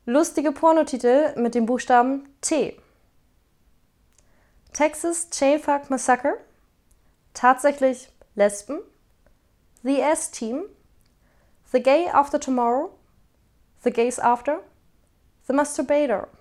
Lustige Pornotitel mit dem Buchstaben T. Texas Chainfuck Massacre, Tatsächlich Lesben, The S-Team, The Gay After Tomorrow, The Gays After, The Masturbator.